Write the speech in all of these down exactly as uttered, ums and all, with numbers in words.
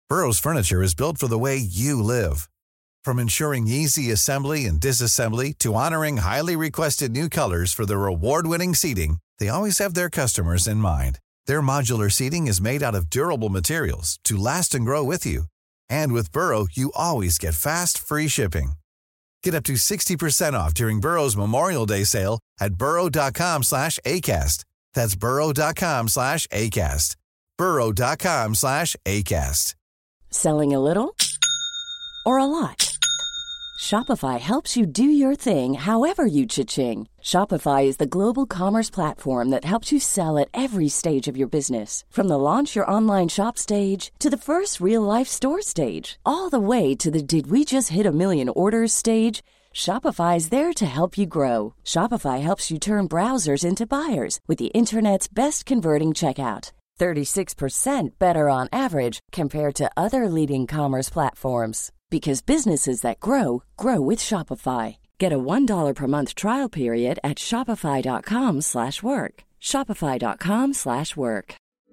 Burrow's furniture is built for the way you live. From ensuring easy assembly and disassembly to honoring highly requested new colors for their award-winning seating, they always have their customers in mind. Their modular seating is made out of durable materials to last and grow with you. And with Burrow, you always get fast, free shipping. Get up to sixty percent off during Burrow's Memorial Day sale at burrow.com slash ACAST. That's burrow.com slash ACAST. burrow.com slash ACAST. Selling a little or a lot? Shopify helps you do your thing however you cha-ching. Shopify is the global commerce platform that helps you sell at every stage of your business. From the launch your online shop stage to the first real-life store stage, all the way to the did we just hit a million orders stage. Shopify is there to help you grow. Shopify helps you turn browsers into buyers with the internet's best converting checkout. thirty-six percent better on average compared to other leading commerce platforms. Because businesses that grow, grow with Shopify. Get a one dollar per month trial period at shopify.com slash work. Shopify.com slash work.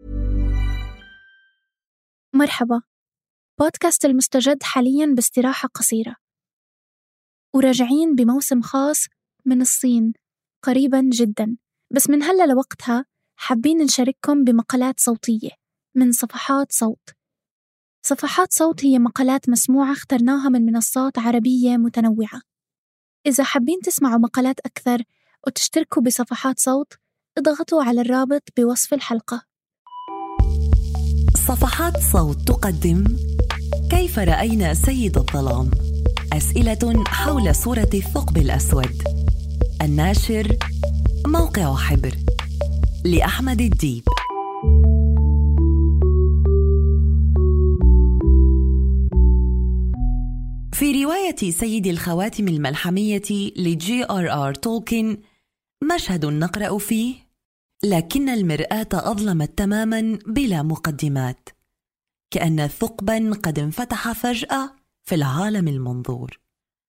مرحبا، بودكاست المستجد حالياً باستراحة قصيرة، وراجعين بموسم خاص من الصين قريباً جداً. بس من هلأ لوقتها حابين نشارككم بمقالات صوتية من صفحات صوت. صفحات صوت هي مقالات مسموعة اخترناها من منصات عربية متنوعة. إذا حابين تسمعوا مقالات أكثر وتشتركوا بصفحات صوت، اضغطوا على الرابط بوصف الحلقة. صفحات صوت تقدم كيف رأينا سيد الظلام؟ أسئلة حول صورة الثقب الأسود. الناشر موقع حبر، لأحمد الديب. في رواية سيد الخواتم الملحمية لجي آر آر تولكين مشهد نقرأ فيه: لكن المرآة أظلمت تماماً بلا مقدمات، كأن ثقباً قد انفتح فجأة في العالم المنظور.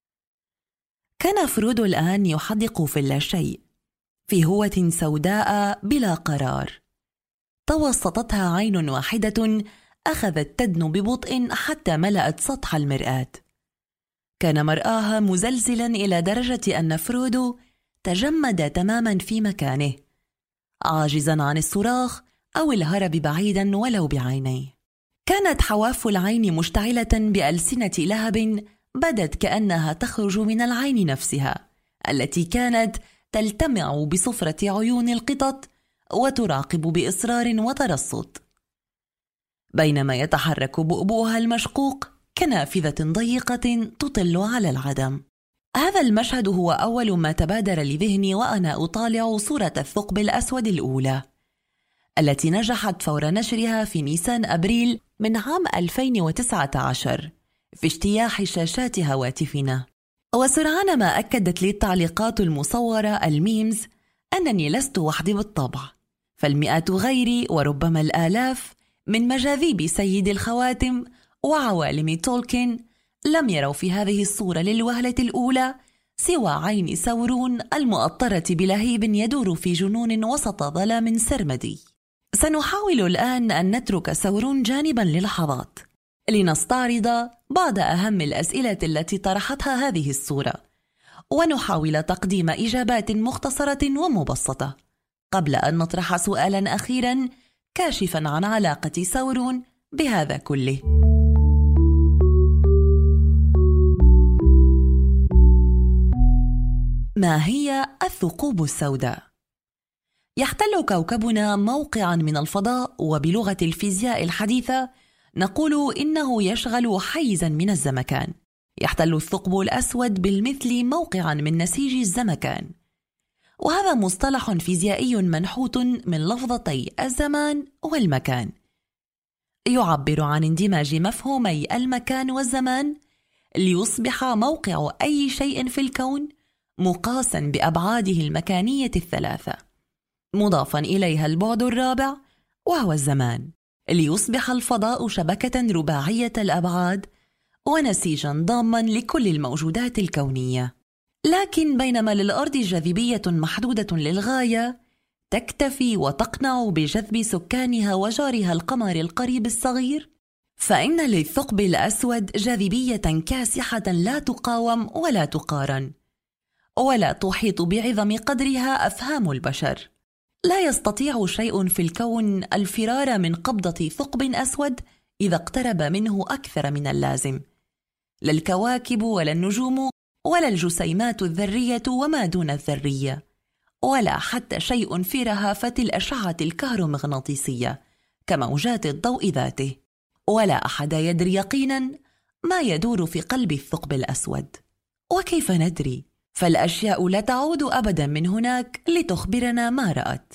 كان فرودو الآن يحدق في اللاشيء، في هوة سوداء بلا قرار، توسطتها عين واحدة أخذت تدنو ببطء حتى ملأت سطح المرآة. كان مرآها مزلزلاً إلى درجة أن فرودو تجمد تماماً في مكانه، عاجزاً عن الصراخ أو الهرب بعيداً ولو بعينيه. كانت حواف العين مشتعلة بألسنة لهب بدت كأنها تخرج من العين نفسها، التي كانت تلتمع بصفرة عيون القطط وتراقب بإصرار وترصد، بينما يتحرك بؤبؤها المشقوق كنافذة ضيقة تطل على العدم. هذا المشهد هو أول ما تبادر لذهني وأنا أطالع صورة الثقب الأسود الأولى، التي نجحت فور نشرها في نيسان أبريل من عام ألفين وتسعة عشر في اجتياح شاشات هواتفنا. وسرعان ما أكدت لي التعليقات المصورة الميمز أنني لست وحدي بالطبع، فالمئات غيري وربما الآلاف من مجاذيب سيد الخواتم وعوالم تولكين لم يروا في هذه الصورة للوهلة الأولى سوى عين سورون المؤطرة بلهيب يدور في جنون وسط ظلام سرمدي. سنحاول الآن أن نترك سورون جانبا للحظات لنستعرض بعض أهم الأسئلة التي طرحتها هذه الصورة، ونحاول تقديم إجابات مختصرة ومبسطة قبل أن نطرح سؤالا أخيرا كاشفا عن علاقة سورون بهذا كله. ما هي الثقوب السوداء؟ يحتل كوكبنا موقعا من الفضاء، وبلغة الفيزياء الحديثة نقول إنه يشغل حيزا من الزمكان. يحتل الثقب الأسود بالمثل موقعا من نسيج الزمكان، وهذا مصطلح فيزيائي منحوت من لفظتي الزمان والمكان، يعبر عن اندماج مفهومي المكان والزمان ليصبح موقع أي شيء في الكون مقاسا بأبعاده المكانية الثلاثة، مضافا إليها البعد الرابع وهو الزمان، ليصبح الفضاء شبكة رباعية الأبعاد ونسيجا ضاما لكل الموجودات الكونية. لكن بينما للأرض جاذبية محدودة للغاية تكتفي وتقنع بجذب سكانها وجارها القمر القريب الصغير، فإن للثقب الأسود جاذبية كاسحة لا تقاوم ولا تقارن، ولا تحيط بعظم قدرها أفهام البشر. لا يستطيع شيء في الكون الفرار من قبضة ثقب أسود إذا اقترب منه أكثر من اللازم. لا الكواكب ولا النجوم ولا الجسيمات الذرية وما دون الذرية، ولا حتى شيء في رهافة الأشعة الكهرومغناطيسية كموجات الضوء ذاته، ولا أحد يدري يقيناً ما يدور في قلب الثقب الأسود. وكيف ندري؟ فالأشياء لا تعود أبداً من هناك لتخبرنا ما رأت.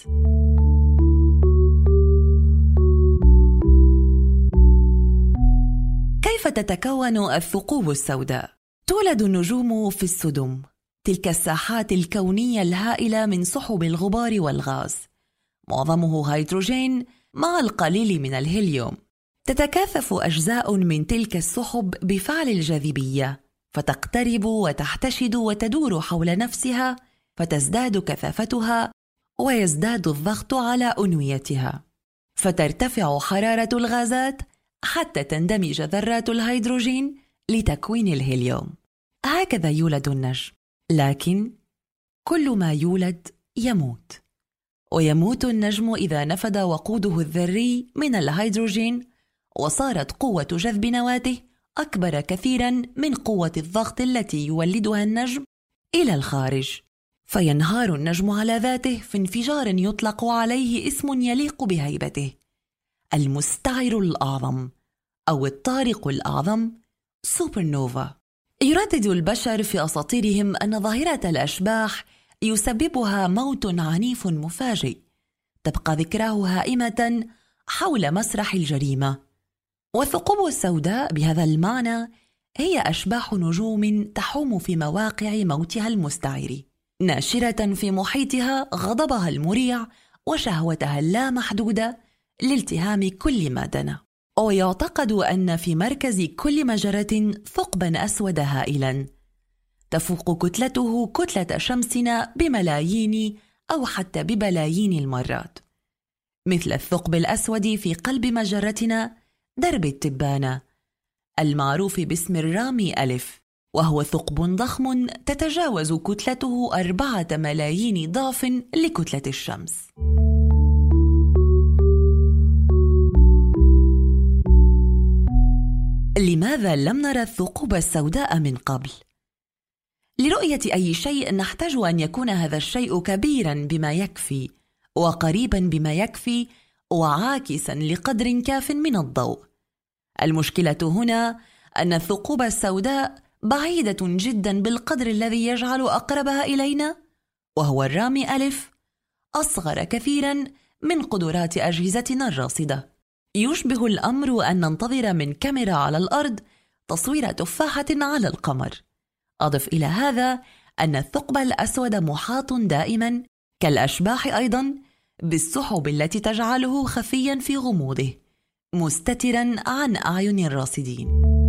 كيف تتكون الثقوب السوداء؟ تولد النجوم في السدم، تلك الساحات الكونية الهائلة من سحب الغبار والغاز، معظمه هيدروجين مع القليل من الهيليوم. تتكاثف أجزاء من تلك السحب بفعل الجاذبية، فتقترب وتحتشد وتدور حول نفسها، فتزداد كثافتها ويزداد الضغط على أنويتها، فترتفع حرارة الغازات حتى تندمج ذرات الهيدروجين لتكوين الهيليوم. هكذا يولد النجم. لكن كل ما يولد يموت، ويموت النجم إذا نفد وقوده الذري من الهيدروجين، وصارت قوة جذب نواته أكبر كثيراً من قوة الضغط التي يولدها النجم إلى الخارج، فينهار النجم على ذاته في انفجار يطلق عليه اسم يليق بهيبته: المستعر الأعظم أو الطارق الأعظم، سوبر نوفا. يردد البشر في أساطيرهم أن ظاهرة الأشباح يسببها موت عنيف مفاجئ تبقى ذكراه هائمة حول مسرح الجريمة. والثقوب السوداء بهذا المعنى هي أشباح نجوم تحوم في مواقع موتها المستعر، ناشرة في محيطها غضبها المريع وشهوتها اللامحدودة لالتهام كل ما دنا. ويعتقد أن في مركز كل مجرة ثقباً أسود هائلاً تفوق كتلته كتلة شمسنا بملايين أو حتى ببلايين المرات، مثل الثقب الأسود في قلب مجرتنا درب التبانة المعروف باسم الرامي ألف، وهو ثقب ضخم تتجاوز كتلته أربعة ملايين ضعف لكتلة الشمس. لماذا لم نرى الثقوب السوداء من قبل؟ لرؤية أي شيء نحتاج أن يكون هذا الشيء كبيراً بما يكفي، وقريباً بما يكفي، وعاكساً لقدر كاف من الضوء. المشكلة هنا أن الثقوب السوداء بعيدة جداً بالقدر الذي يجعل أقربها إلينا، وهو الرامي ألف، أصغر كثيراً من قدرات أجهزتنا الراصدة. يشبه الأمر أن ننتظر من كاميرا على الأرض تصوير تفاحة على القمر. أضف إلى هذا أن الثقب الأسود محاط دائماً كالأشباح أيضاً بالسحب التي تجعله خفياً في غموضه، مستتراً عن أعين الراصدين.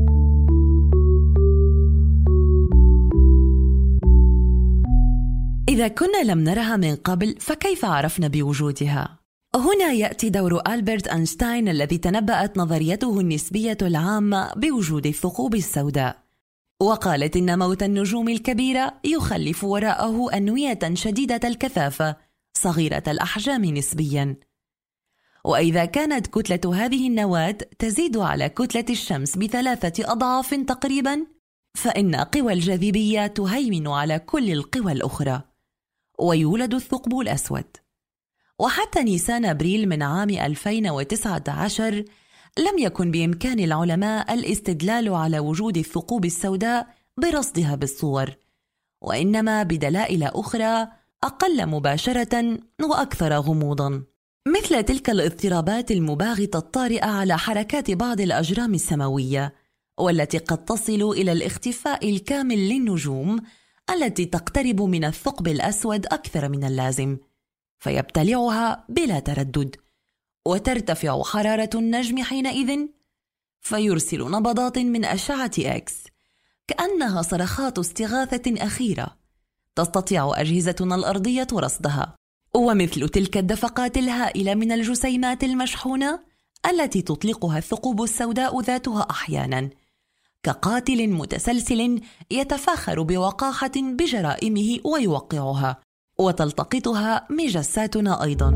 إذا كنا لم نرها من قبل فكيف عرفنا بوجودها؟ هنا يأتي دور ألبرت أينشتاين الذي تنبأت نظريته النسبية العامة بوجود الثقوب السوداء، وقالت إن موت النجوم الكبيرة يخلف وراءه أنوية شديدة الكثافة صغيرة الأحجام نسبياً، وإذا كانت كتلة هذه النواة تزيد على كتلة الشمس بثلاثة أضعاف تقريباً، فإن قوى الجاذبية تهيمن على كل القوى الأخرى، ويولد الثقب الأسود. وحتى نيسان أبريل من عام ألفين وتسعة عشر لم يكن بإمكان العلماء الاستدلال على وجود الثقوب السوداء برصدها بالصور، وإنما بدلائل أخرى أقل مباشرة وأكثر غموضاً، مثل تلك الاضطرابات المباغتة الطارئة على حركات بعض الأجرام السماوية، والتي قد تصل إلى الاختفاء الكامل للنجوم التي تقترب من الثقب الأسود أكثر من اللازم، فيبتلعها بلا تردد، وترتفع حرارة النجم حينئذ، فيرسل نبضات من أشعة إكس كأنها صرخات استغاثة أخيرة تستطيع أجهزتنا الأرضية رصدها. ومثل تلك الدفقات الهائلة من الجسيمات المشحونة التي تطلقها الثقوب السوداء ذاتها أحياناً، كقاتل متسلسل يتفاخر بوقاحة بجرائمه ويوقعها، وتلتقطها مجساتنا أيضاً.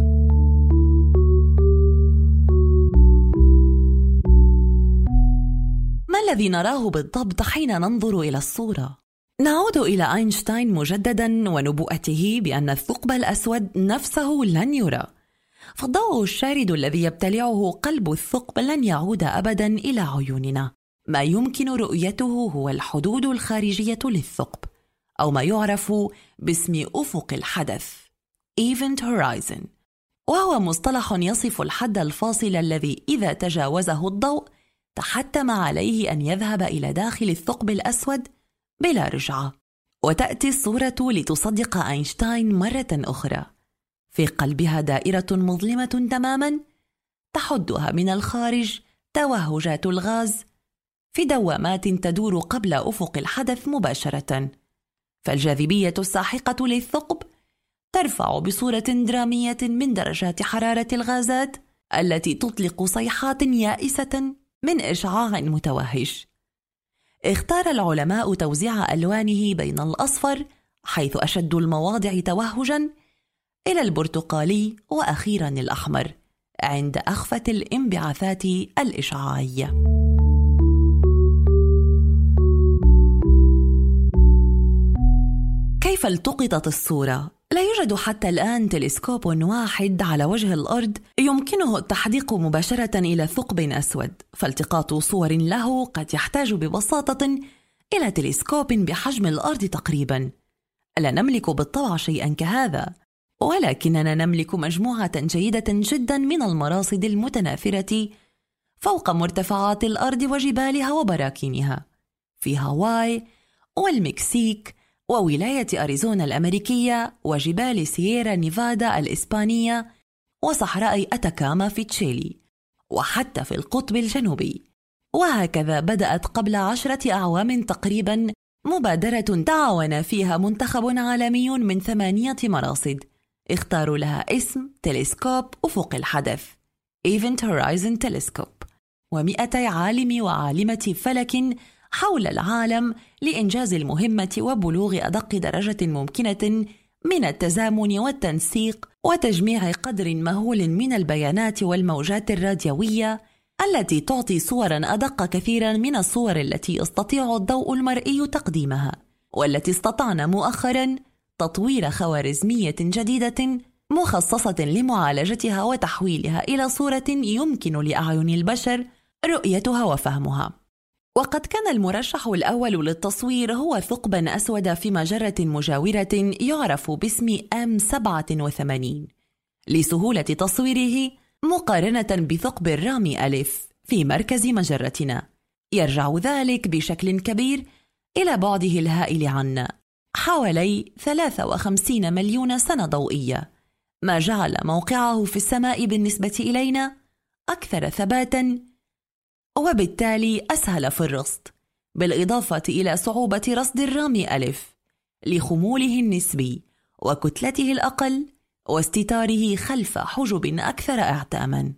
ما الذي نراه بالضبط حين ننظر إلى الصورة؟ نعود إلى أينشتاين مجدداً ونبوءته بأن الثقب الأسود نفسه لن يرى، فالضوء الشارد الذي يبتلعه قلب الثقب لن يعود أبداً إلى عيوننا. ما يمكن رؤيته هو الحدود الخارجية للثقب، أو ما يعرف باسم أفق الحدث Event Horizon، وهو مصطلح يصف الحد الفاصل الذي إذا تجاوزه الضوء تحتم عليه أن يذهب إلى داخل الثقب الأسود بلا رجعة. وتأتي الصورة لتصدق أينشتاين مرة أخرى، في قلبها دائرة مظلمة تماما تحدها من الخارج توهجات الغاز في دوامات تدور قبل أفق الحدث مباشرة. فالجاذبية الساحقة للثقب ترفع بصورة درامية من درجات حرارة الغازات التي تطلق صيحات يائسة من إشعاع متوهج. اختار العلماء توزيع ألوانه بين الأصفر حيث أشد المواضع توهجاً إلى البرتقالي وأخيراً الأحمر عند أخفة الانبعاثات الإشعاعية. كيف التقطت الصورة؟ لا يوجد حتى الآن تلسكوب واحد على وجه الأرض يمكنه التحديق مباشرة إلى ثقب أسود، فالتقاط صور له قد يحتاج ببساطة إلى تلسكوب بحجم الأرض تقريبا. لا نملك بالطبع شيئا كهذا، ولكننا نملك مجموعة جيدة جدا من المراصد المتناثرة فوق مرتفعات الأرض وجبالها وبراكينها في هاواي والمكسيك وولاية أريزونا الأمريكية وجبال سييرا نيفادا الإسبانية وصحراء أتاكاما في تشيلي وحتى في القطب الجنوبي. وهكذا بدأت قبل عشرة أعوام تقريبا مبادرة تعاون فيها منتخب عالمي من ثمانية مراصد اختاروا لها اسم تلسكوب أفق الحدث Event Horizon Telescope، ومئتي عالم وعالمة فلك حول العالم لإنجاز المهمة وبلوغ أدق درجة ممكنة من التزامن والتنسيق وتجميع قدر مهول من البيانات والموجات الراديوية التي تعطي صوراً أدق كثيراً من الصور التي يستطيع الضوء المرئي تقديمها، والتي استطعنا مؤخراً تطوير خوارزمية جديدة مخصصة لمعالجتها وتحويلها إلى صورة يمكن لأعين البشر رؤيتها وفهمها. وقد كان المرشح الأول للتصوير هو ثقباً أسود في مجرة مجاورة يعرف باسم إم سبعة وثمانين لسهولة تصويره مقارنة بثقب الرامي ألف في مركز مجرتنا. يرجع ذلك بشكل كبير إلى بعده الهائل عنا حوالي ثلاثة وخمسين مليون سنة ضوئية، ما جعل موقعه في السماء بالنسبة إلينا أكثر ثباتاً وبالتالي أسهل في الرصد، بالإضافة إلى صعوبة رصد الرامي ألف لخموله النسبي وكتلته الأقل واستتاره خلف حجب أكثر اعتاماً.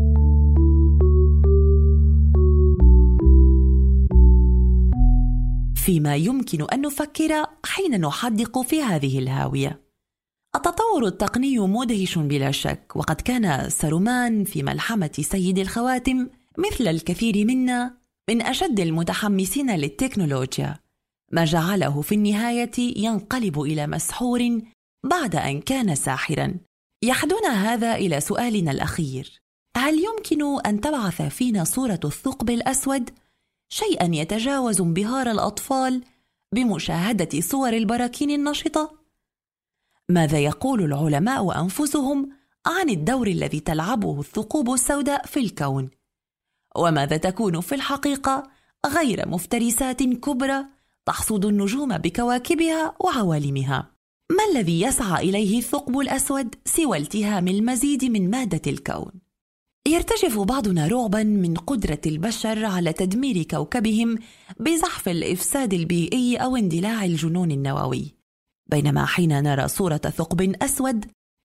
فيما يمكن أن نفكر حين نحدق في هذه الهاوية. التطور التقني مدهش بلا شك، وقد كان سارومان في ملحمة سيد الخواتم مثل الكثير منا من أشد المتحمسين للتكنولوجيا، ما جعله في النهاية ينقلب إلى مسحور بعد أن كان ساحراً. يحدنا هذا إلى سؤالنا الأخير: هل يمكن أن تبعث فينا صورة الثقب الأسود شيئاً يتجاوز انبهار الأطفال بمشاهدة صور البراكين النشطة؟ ماذا يقول العلماء أنفسهم عن الدور الذي تلعبه الثقوب السوداء في الكون؟ وماذا تكون في الحقيقة غير مفترسات كبرى تحصد النجوم بكواكبها وعوالمها؟ ما الذي يسعى إليه الثقب الأسود سوى التهام المزيد من مادة الكون؟ يرتجف بعضنا رعبا من قدرة البشر على تدمير كوكبهم بزحف الإفساد البيئي أو اندلاع الجنون النووي، بينما حين نرى صورة ثقب أسود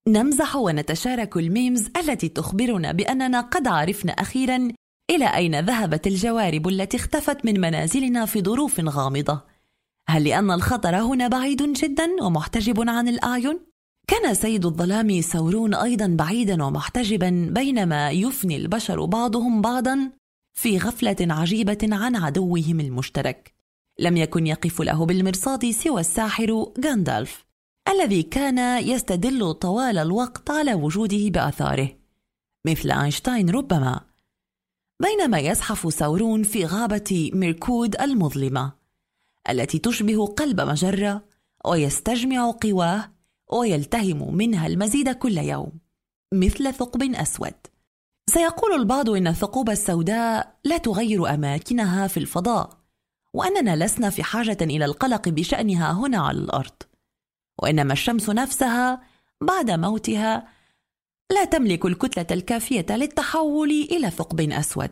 نمزح ونتشارك الميمز التي تخبرنا بأننا قد عرفنا أخيراً إلى أين ذهبت الجوارب التي اختفت من منازلنا في ظروف غامضة. هل لأن الخطر هنا بعيد جداً ومحتجب عن الأعين؟ كان سيد الظلام ثورون أيضاً بعيداً ومحتجباً بينما يفني البشر بعضهم بعضاً في غفلة عجيبة عن عدوهم المشترك. لم يكن يقف له بالمرصاد سوى الساحر غاندالف الذي كان يستدل طوال الوقت على وجوده بآثاره، مثل أينشتاين ربما. بينما يزحف ثورون في غابة ميركود المظلمة التي تشبه قلب مجرة ويستجمع قواه ويلتهم منها المزيد كل يوم مثل ثقب أسود. سيقول البعض إن الثقوب السوداء لا تغير أماكنها في الفضاء، وأننا لسنا في حاجة إلى القلق بشأنها هنا على الأرض، وإنما الشمس نفسها بعد موتها لا تملك الكتلة الكافية للتحول إلى ثقب أسود.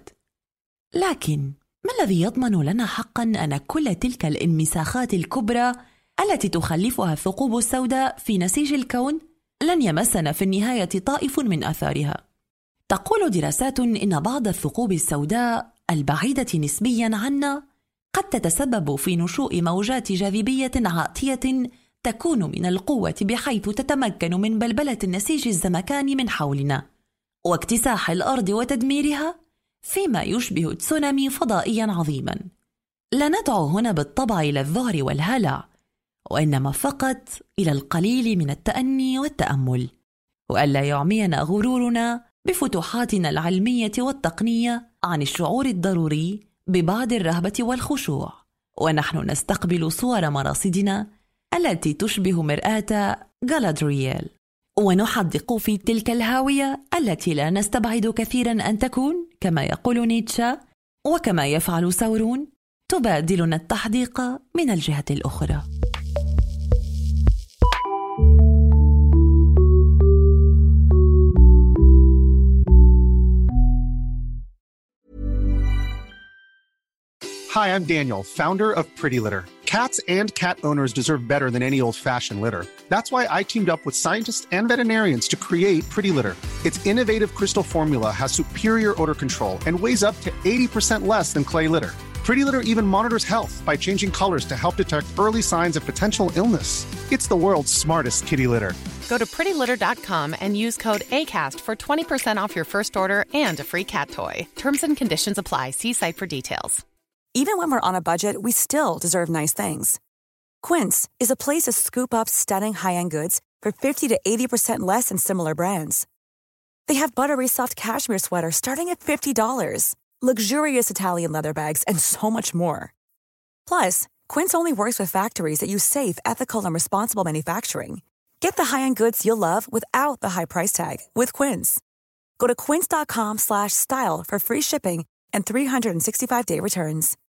لكن ما الذي يضمن لنا حقا أن كل تلك الانمساخات الكبرى التي تخلفها الثقوب السوداء في نسيج الكون لن يمسنا في النهاية طائف من أثارها؟ تقول دراسات إن بعض الثقوب السوداء البعيدة نسبيا عنا قد تتسبب في نشوء موجات جاذبية عاتية تكون من القوة بحيث تتمكن من بلبلة النسيج الزمكاني من حولنا واكتساح الأرض وتدميرها فيما يشبه تسونامي فضائيا عظيما. لا ندعو هنا بالطبع إلى الذعر والهلع، وإنما فقط إلى القليل من التأني والتأمل، وألا يعمينا غرورنا بفتوحاتنا العلمية والتقنية عن الشعور الضروري ببعض الرهبة والخشوع ونحن نستقبل صور مراصدنا التي تشبه مرآة غالادرييل، ونحدق في تلك الهاوية التي لا نستبعد كثيرا أن تكون كما يقول نيتشه وكما يفعل ثورون تبادلنا التحديق من الجهة الأخرى. Hi, I'm Daniel, founder of Pretty Litter. Cats and cat owners deserve better than any old-fashioned litter. That's why I teamed up with scientists and veterinarians to create Pretty Litter. Its innovative crystal formula has superior odor control and weighs up to eighty percent less than clay litter. Pretty Litter even monitors health by changing colors to help detect early signs of potential illness. It's the world's smartest kitty litter. Go to pretty litter dot com and use code ACAST for twenty percent off your first order and a free cat toy. Terms and conditions apply. See site for details. Even when we're on a budget, we still deserve nice things. Quince is a place to scoop up stunning high-end goods for fifty to eighty percent less than similar brands. They have buttery soft cashmere sweaters starting at fifty dollars, luxurious Italian leather bags, and so much more. Plus, Quince only works with factories that use safe, ethical, and responsible manufacturing. Get the high-end goods you'll love without the high price tag with Quince. Go to quince dot com slash style for free shipping and three hundred sixty-five day returns.